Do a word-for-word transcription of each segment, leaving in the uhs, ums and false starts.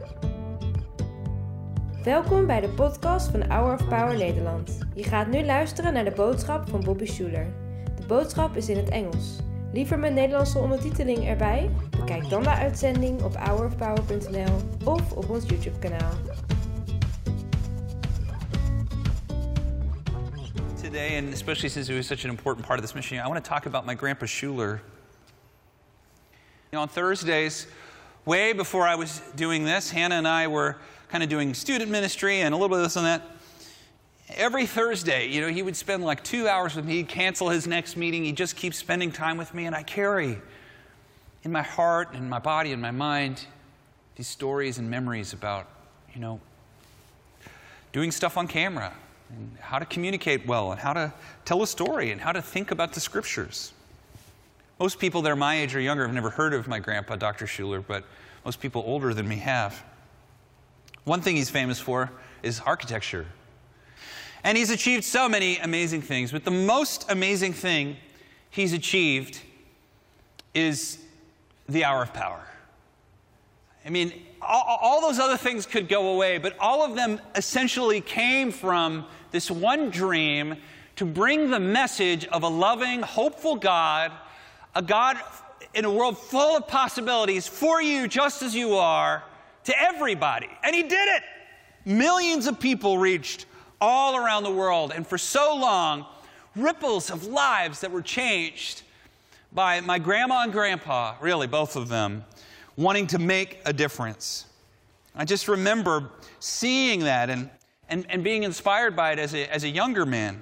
Welkom bij de podcast van Hour of Power Nederland. Je gaat nu luisteren naar de boodschap van Bobby Schuler. De boodschap is in het Engels. Liever met Nederlandse ondertiteling erbij? Bekijk dan de uitzending op hour of power punt n l of op ons YouTube kanaal. Today, and especially since it was such an important part of this mission, I want to talk about my grandpa Schuler. You know, on Thursdays, way before I was doing this, Hannah and I were kind of doing student ministry and a little bit of this and that. Every Thursday, you know, he would spend like two hours with me. He'd cancel his next meeting. He'd just keep spending time with me. And I carry in my heart and my body and my mind these stories and memories about, you know, doing stuff on camera and how to communicate well and how to tell a story and how to think about the scriptures. Most people that are my age or younger have never heard of my grandpa, Doctor Schuler, but most people older than me have. One thing he's famous for is architecture. And he's achieved so many amazing things, but the most amazing thing he's achieved is the Hour of Power. I mean, all, all those other things could go away, but all of them essentially came from this one dream to bring the message of a loving, hopeful God, a God in a world full of possibilities for you just as you are, to everybody. And he did it. Millions of people reached all around the world. And for so long, ripples of lives that were changed by my grandma and grandpa, really both of them, wanting to make a difference. I just remember seeing that and, and, and being inspired by it as a, as a younger man.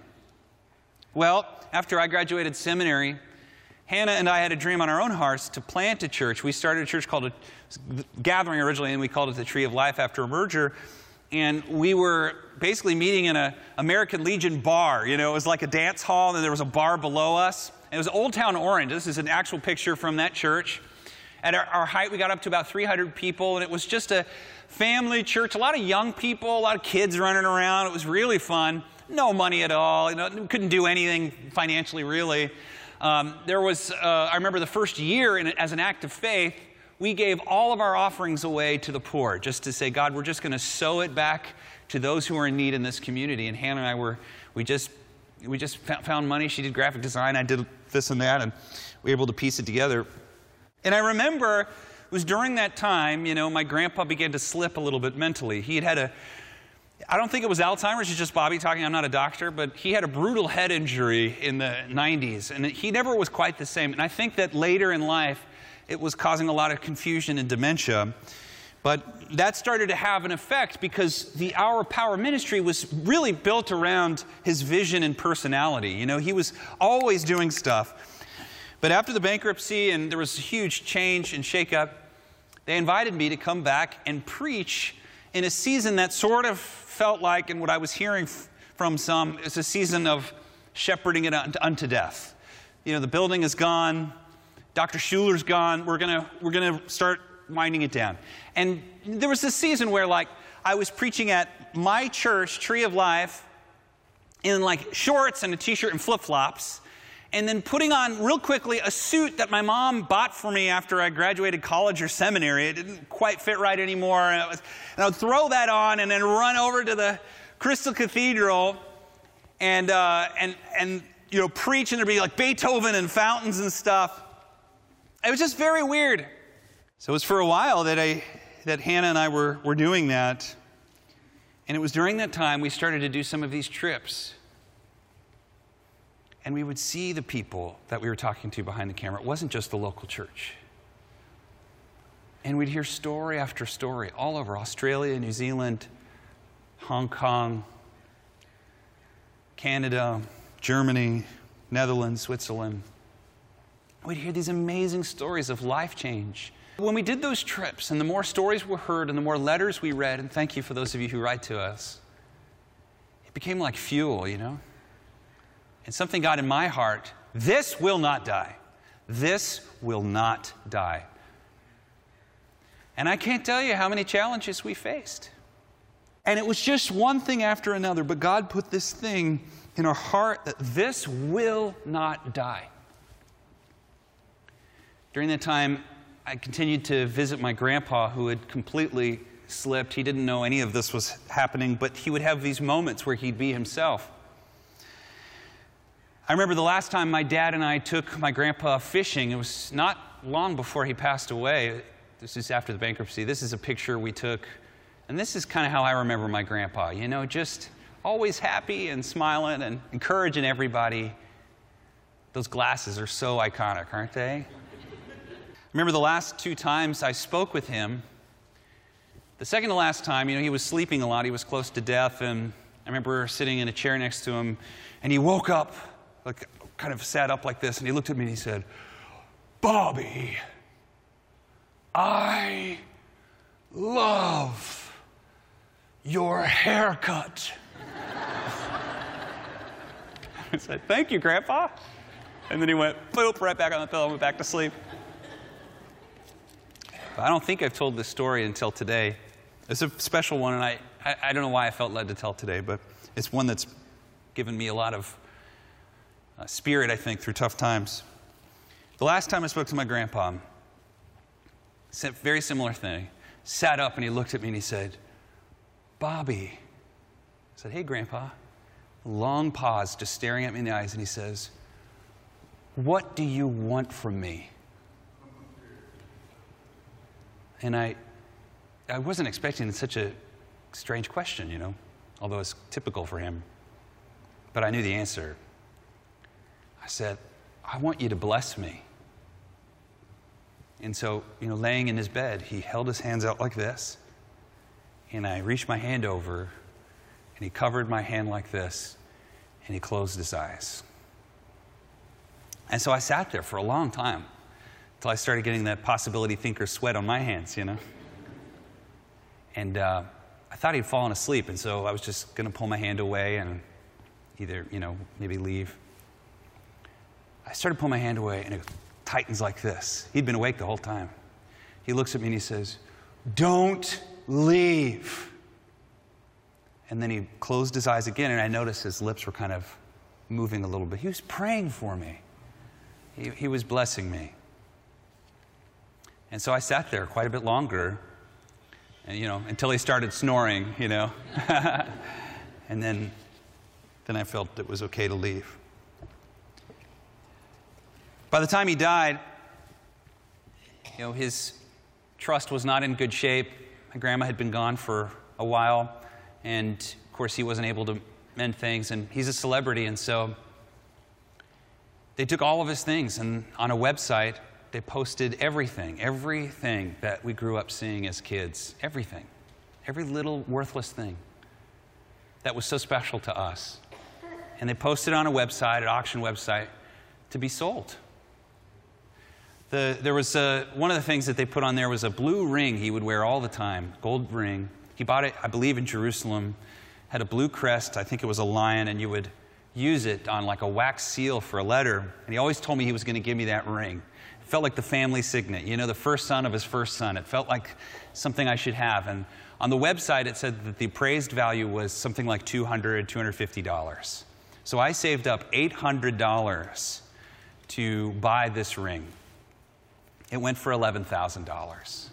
Well, after I graduated seminary, Hannah and I had a dream on our own hearts to plant a church. We started a church called a Gathering originally, and we called it the Tree of Life after a merger. And we were basically meeting in an American Legion bar. You know, it was like a dance hall, and then there was a bar below us. And it was Old Town Orange. This is an actual picture from that church. At our, our height, we got up to about three hundred people, and it was just a family church. A lot of young people, a lot of kids running around. It was really fun. No money at all. You know, couldn't do anything financially, really. Um, there was, uh, I remember the first year in, as an act of faith, we gave all of our offerings away to the poor, just to say, God, we're just going to sow it back to those who are in need in this community. And Hannah and I were, we just, we just found money. She did graphic design. I did this and that, and we were able to piece it together. And I remember it was during that time, you know, my grandpa began to slip a little bit mentally. He had had a, I don't think it was Alzheimer's, it's just Bobby talking, I'm not a doctor, but he had a brutal head injury in the nineties, and he never was quite the same. And I think that later in life, it was causing a lot of confusion and dementia. But that started to have an effect because the Hour of Power ministry was really built around his vision and personality. You know, he was always doing stuff. But after the bankruptcy and there was a huge change and shakeup, they invited me to come back and preach in a season that sort of felt like, and what I was hearing from some, is a season of shepherding it unto death. You know, the building is gone. Doctor Schuler's gone. We're gonna we're gonna start winding it down. And there was this season where, like, I was preaching at my church, Tree of Life, in like shorts and a t-shirt and flip-flops, and then putting on real quickly a suit that my mom bought for me after I graduated college or seminary. It didn't quite fit right anymore, and, it was, and I would throw that on and then run over to the Crystal Cathedral and uh, and and you know preach, and there'd be like Beethoven and fountains and stuff. It was just very weird. So it was for a while that I, that Hannah and I were, were doing that. And it was during that time we started to do some of these trips. And we would see the people that we were talking to behind the camera. It wasn't just the local church. And we'd hear story after story all over Australia, New Zealand, Hong Kong, Canada, Germany, Netherlands, Switzerland. We'd hear these amazing stories of life change. When we did those trips, and the more stories were heard, and the more letters we read, and thank you for those of you who write to us, it became like fuel, you know? And something got in my heart, this will not die. This will not die. And I can't tell you how many challenges we faced. And it was just one thing after another, but God put this thing in our heart that this will not die. During that time, I continued to visit my grandpa, who had completely slipped. He didn't know any of this was happening, but he would have these moments where he'd be himself. I remember the last time my dad and I took my grandpa fishing. It was not long before he passed away. This is after the bankruptcy. This is a picture we took, and this is kind of how I remember my grandpa. You know, just always happy and smiling and encouraging everybody. Those glasses are so iconic, aren't they? I remember the last two times I spoke with him. The second to last time, you know, he was sleeping a lot. He was close to death, and I remember sitting in a chair next to him, and he woke up, like, kind of sat up like this, and he looked at me and he said, "Bobby, I love your haircut." I said, "Thank you, Grandpa." And then he went, boop, right back on the pillow and went back to sleep. But I don't think I've told this story until today. It's a special one, and I, I, I don't know why I felt led to tell today, but it's one that's given me a lot of uh, spirit, I think, through tough times. The last time I spoke to my grandpa, said a very similar thing. Sat up and he looked at me and he said, "Bobby." I said, "Hey, Grandpa." Long pause, just staring at me in the eyes, and he says, "What do you want from me?" And I, I wasn't expecting such a strange question, you know, although it's typical for him. But I knew the answer. I said, "I want you to bless me." And so, you know, laying in his bed, he held his hands out like this, and I reached my hand over, and he covered my hand like this, and he closed his eyes. And so I sat there for a long time until I started getting that possibility thinker sweat on my hands, you know. And uh, I thought he'd fallen asleep, and so I was just going to pull my hand away and either, you know, maybe leave. I started pulling my hand away, and it tightens like this. He'd been awake the whole time. He looks at me and he says, "Don't leave." And then he closed his eyes again, and I noticed his lips were kind of moving a little bit. He was praying for me. He, he was blessing me. And so I sat there quite a bit longer, and you know, until he started snoring, you know. And then, then I felt it was okay to leave. By the time he died, you know, his trust was not in good shape. My grandma had been gone for a while, and of course he wasn't able to mend things, and he's a celebrity, and so they took all of his things, and on a website, they posted everything, everything that we grew up seeing as kids, everything, every little worthless thing that was so special to us. And they posted on a website, an auction website, to be sold. The, there was a, one of the things that they put on there was a blue ring he would wear all the time, gold ring. He bought it, I believe, in Jerusalem, had a blue crest, I think it was a lion, and you would use it on like a wax seal for a letter. And he always told me he was going to give me that ring. It felt like the family signet, you know, the first son of his first son. It felt like something I should have. And on the website, it said that the appraised value was something like two hundred dollars, two hundred fifty dollars. So I saved up eight hundred dollars to buy this ring. It went for eleven thousand dollars.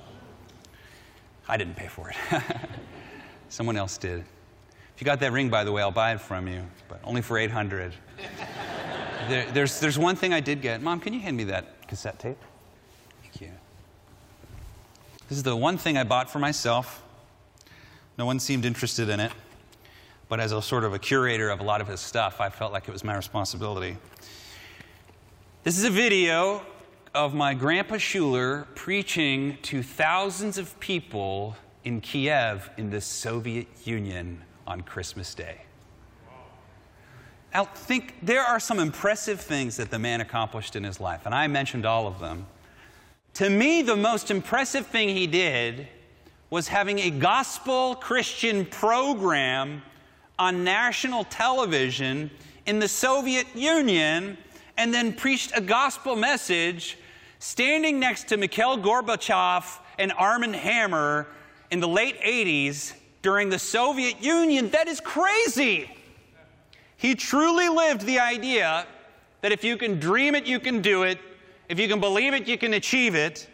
I didn't pay for it. Someone else did. If you got that ring, by the way, I'll buy it from you, but only for eight hundred dollars. there, there's, there's one thing I did get. Mom, can you hand me that cassette tape? Thank you. This is the one thing I bought for myself. No one seemed interested in it, but as a sort of a curator of a lot of his stuff, I felt like it was my responsibility. This is a video of my Grandpa Schuler preaching to thousands of people in Kiev in the Soviet Union on Christmas Day. Now, think, there are some impressive things that the man accomplished in his life, and I mentioned all of them. To me, the most impressive thing he did was having a gospel Christian program on national television in the Soviet Union, and then preached a gospel message standing next to Mikhail Gorbachev and Armand Hammer in the late eighties during the Soviet Union. That is crazy. He truly lived the idea that if you can dream it, you can do it. If you can believe it, you can achieve it.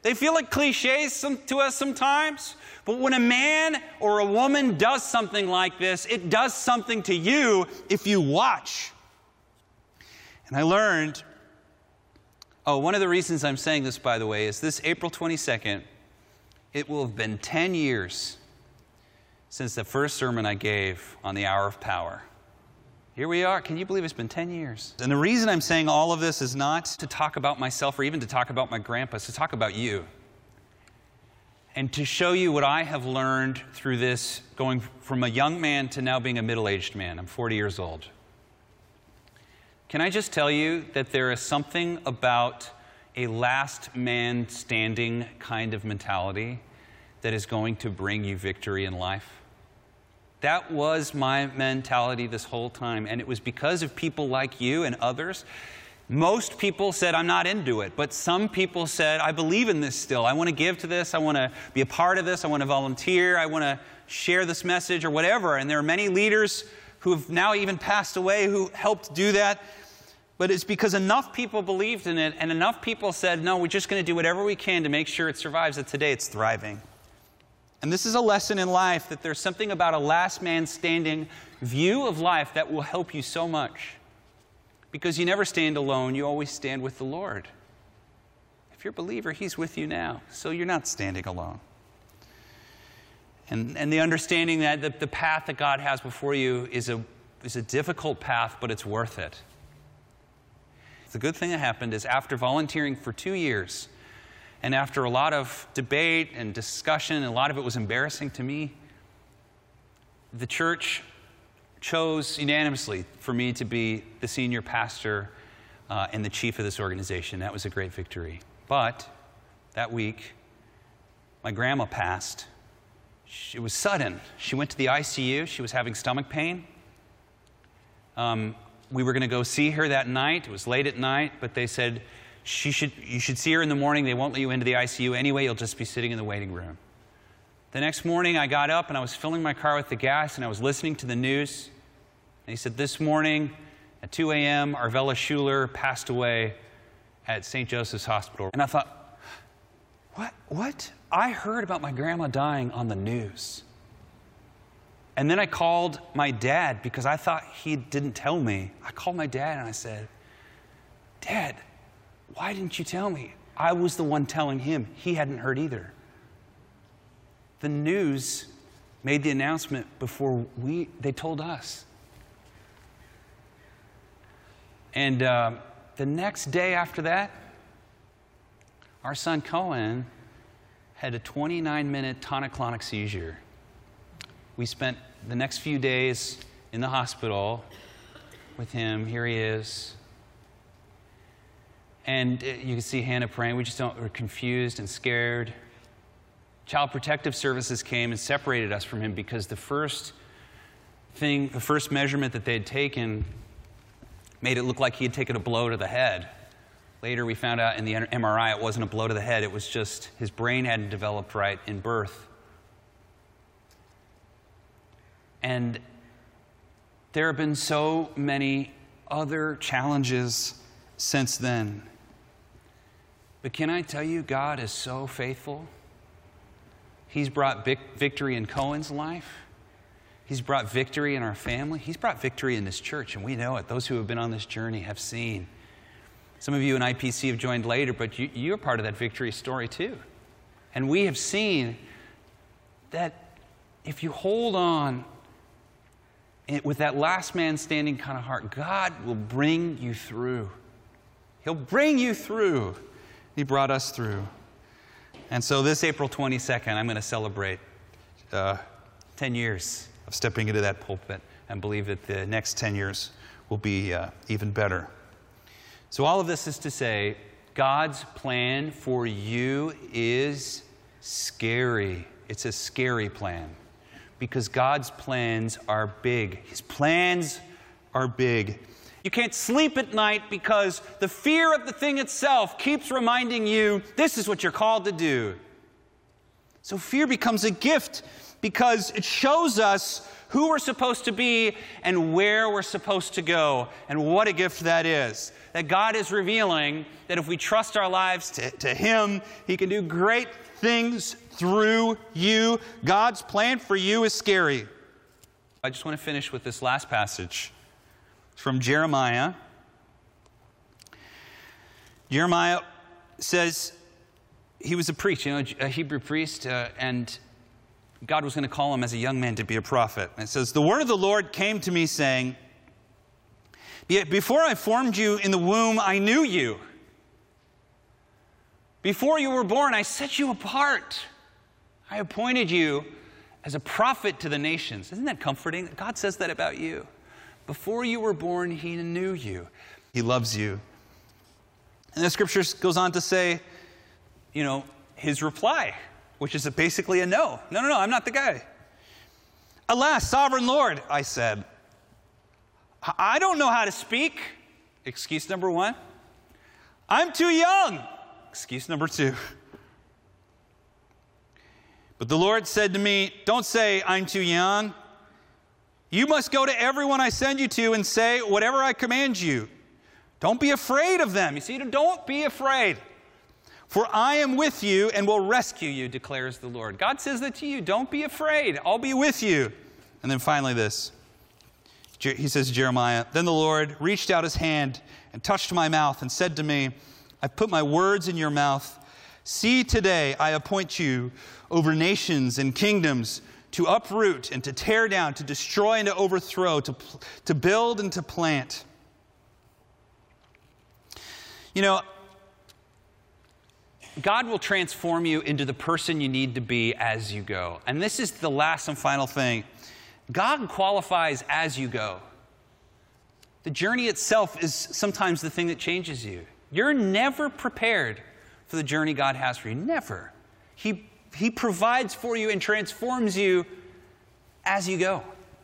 They feel like cliches some, to us sometimes. But when a man or a woman does something like this, it does something to you if you watch. And I learned, oh, one of the reasons I'm saying this, by the way, is this April twenty-second, it will have been ten years since the first sermon I gave on the Hour of Power. Here we are. Can you believe it's been ten years? And the reason I'm saying all of this is not to talk about myself or even to talk about my grandpa. It's to talk about you. And to show you what I have learned through this, going from a young man to now being a middle-aged man. I'm forty years old. Can I just tell you that there is something about a last man standing kind of mentality that is going to bring you victory in life? That was my mentality this whole time, and it was because of people like you and others. Most people said, I'm not into it, but some people said, I believe in this still. I want to give to this. I want to be a part of this. I want to volunteer. I want to share this message or whatever. And there are many leaders who have now even passed away who helped do that. But it's because enough people believed in it and enough people said, no, we're just going to do whatever we can to make sure it survives, that today it's thriving. And this is a lesson in life, that there's something about a last man standing view of life that will help you so much. Because you never stand alone, you always stand with the Lord. If you're a believer, He's with you now, so you're not standing alone. And, and the understanding that the, the path that God has before you is a, is a difficult path, but it's worth it. The good thing that happened is after volunteering for two years, and after a lot of debate and discussion, and a lot of it was embarrassing to me, the church chose unanimously for me to be the senior pastor uh, and the chief of this organization. That was a great victory. But that week, my grandma passed. It was sudden. She went to the I C U. She was having stomach pain. Um, we were going to go see her that night. It was late at night, but they said, she should, you should see her in the morning. They won't let you into the I C U anyway. You'll just be sitting in the waiting room. The next morning, I got up and I was filling my car with the gas and I was listening to the news. And he said, this morning at two a.m., Arvella Schuler passed away at Saint Joseph's Hospital. And I thought, what? What? I heard about my grandma dying on the news. And then I called my dad because I thought he didn't tell me. I called my dad and I said, Dad, why didn't you tell me? I was the one telling him. He hadn't heard either. The news made the announcement before we, they told us. And uh, the next day after that, our son Cohen had a twenty-nine minute tonic-clonic seizure. We spent the next few days in the hospital with him. Here he is. And you can see Hannah praying. We just don't, we're confused and scared. Child Protective Services came and separated us from him because the first thing, the first measurement that they had taken made it look like he had taken a blow to the head. Later we found out in the M R I it wasn't a blow to the head, it was just his brain hadn't developed right in birth. And there have been so many other challenges since then. But can I tell you, God is so faithful. He's brought victory in Cohen's life. He's brought victory in our family. He's brought victory in this church, and we know it. Those who have been on this journey have seen. Some of you in I P C have joined later, but you, you're part of that victory story too. And we have seen that if you hold on with that last man standing kind of heart, God will bring you through. He'll bring you through. He brought us through. And so this April twenty-second, I'm going to celebrate uh, ten years of stepping into that pulpit and believe that the next ten years will be uh, even better. So all of this is to say, God's plan for you is scary. It's a scary plan because God's plans are big. His plans are big. You can't sleep at night because the fear of the thing itself keeps reminding you, this is what you're called to do. So fear becomes a gift because it shows us who we're supposed to be and where we're supposed to go. And what a gift that is. That God is revealing that if we trust our lives to, to Him, He can do great things through you. God's plan for you is scary. I just want to finish with this last passage. It's from Jeremiah. Jeremiah says he was a priest, you know, a Hebrew priest, uh, and God was going to call him as a young man to be a prophet. And it says, the word of the Lord came to me saying, before I formed you in the womb, I knew you. Before you were born, I set you apart. I appointed you as a prophet to the nations. Isn't that comforting? God says that about you. Before you were born, He knew you. He loves you. And the scripture goes on to say, you know, His reply, which is basically a no. No, no, no, I'm not the guy. Alas, sovereign Lord, I said, I don't know how to speak. Excuse number one. I'm too young. Excuse number two. But the Lord said to me, don't say I'm too young. You must go to everyone I send you to and say whatever I command you. Don't be afraid of them. You see, don't be afraid. For I am with you and will rescue you, declares the Lord. God says that to you. Don't be afraid. I'll be with you. And then finally this. He says, Jeremiah, then the Lord reached out His hand and touched my mouth and said to me, I've put my words in your mouth. See, today I appoint you over nations and kingdoms to uproot and to tear down, to destroy and to overthrow, to, to build and to plant. You know, God will transform you into the person you need to be as you go. And this is the last and final thing. God qualifies as you go. The journey itself is sometimes the thing that changes you. You're never prepared for the journey God has for you. Never. He, he provides for you and transforms you as you go.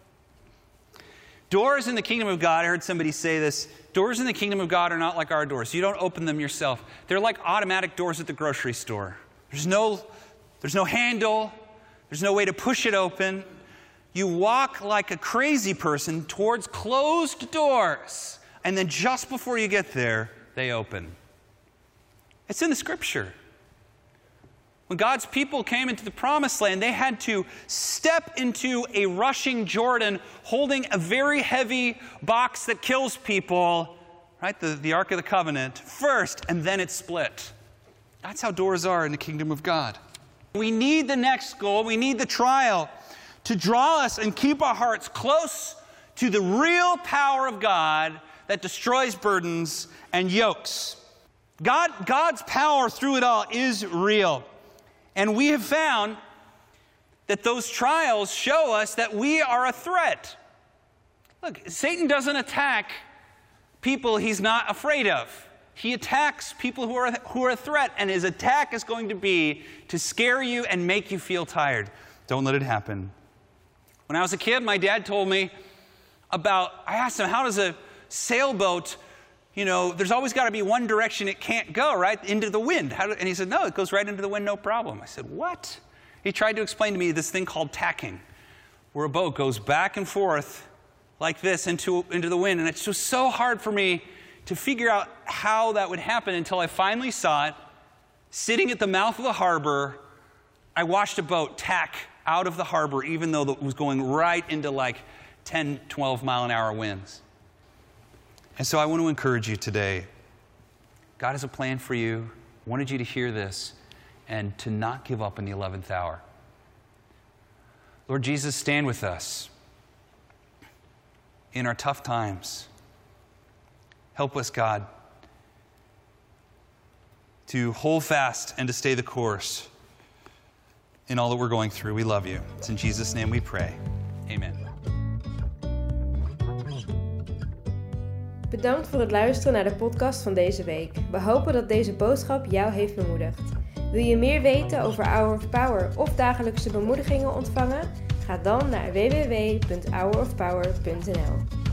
Doors in the kingdom of God, I heard somebody say this, doors in the kingdom of God are not like our doors. You don't open them yourself. They're like automatic doors at the grocery store. There's no, there's no handle. There's no way to push it open. You walk like a crazy person towards closed doors. And then just before you get there, they open. It's in the scripture. When God's people came into the promised land, they had to step into a rushing Jordan holding a very heavy box that kills people, right? The, the Ark of the Covenant first, and then it split. That's how doors are in the kingdom of God. We need the next goal. We need the trial to draw us and keep our hearts close to the real power of God that destroys burdens and yokes. God, God's power through it all is real. And we have found that those trials show us that we are a threat. Look, Satan doesn't attack people he's not afraid of. He attacks people who are, who are a threat, and his attack is going to be to scare you and make you feel tired. Don't let it happen. When I was a kid, my dad told me about, I asked him, how does a sailboat, you know, there's always got to be one direction it can't go, right? Into the wind. How do, and he said, no, it goes right into the wind, no problem. I said, what? He tried to explain to me this thing called tacking, where a boat goes back and forth like this into, into the wind. And it's just so hard for me to figure out how that would happen until I finally saw it sitting at the mouth of the harbor. I watched a boat tack out of the harbor, even though it was going right into like ten, twelve mile an hour winds. And so I want to encourage you today. God has a plan for you. I wanted you to hear this and to not give up in the eleventh hour. Lord Jesus, stand with us in our tough times. Help us, God, to hold fast and to stay the course in all that we're going through. We love you. It's in Jesus' name we pray. Amen. Bedankt voor het luisteren naar de podcast van deze week. We hopen dat deze boodschap jou heeft bemoedigd. Wil je meer weten over Hour of Power of dagelijkse bemoedigingen ontvangen? Ga dan naar w w w punt hour of power punt n l.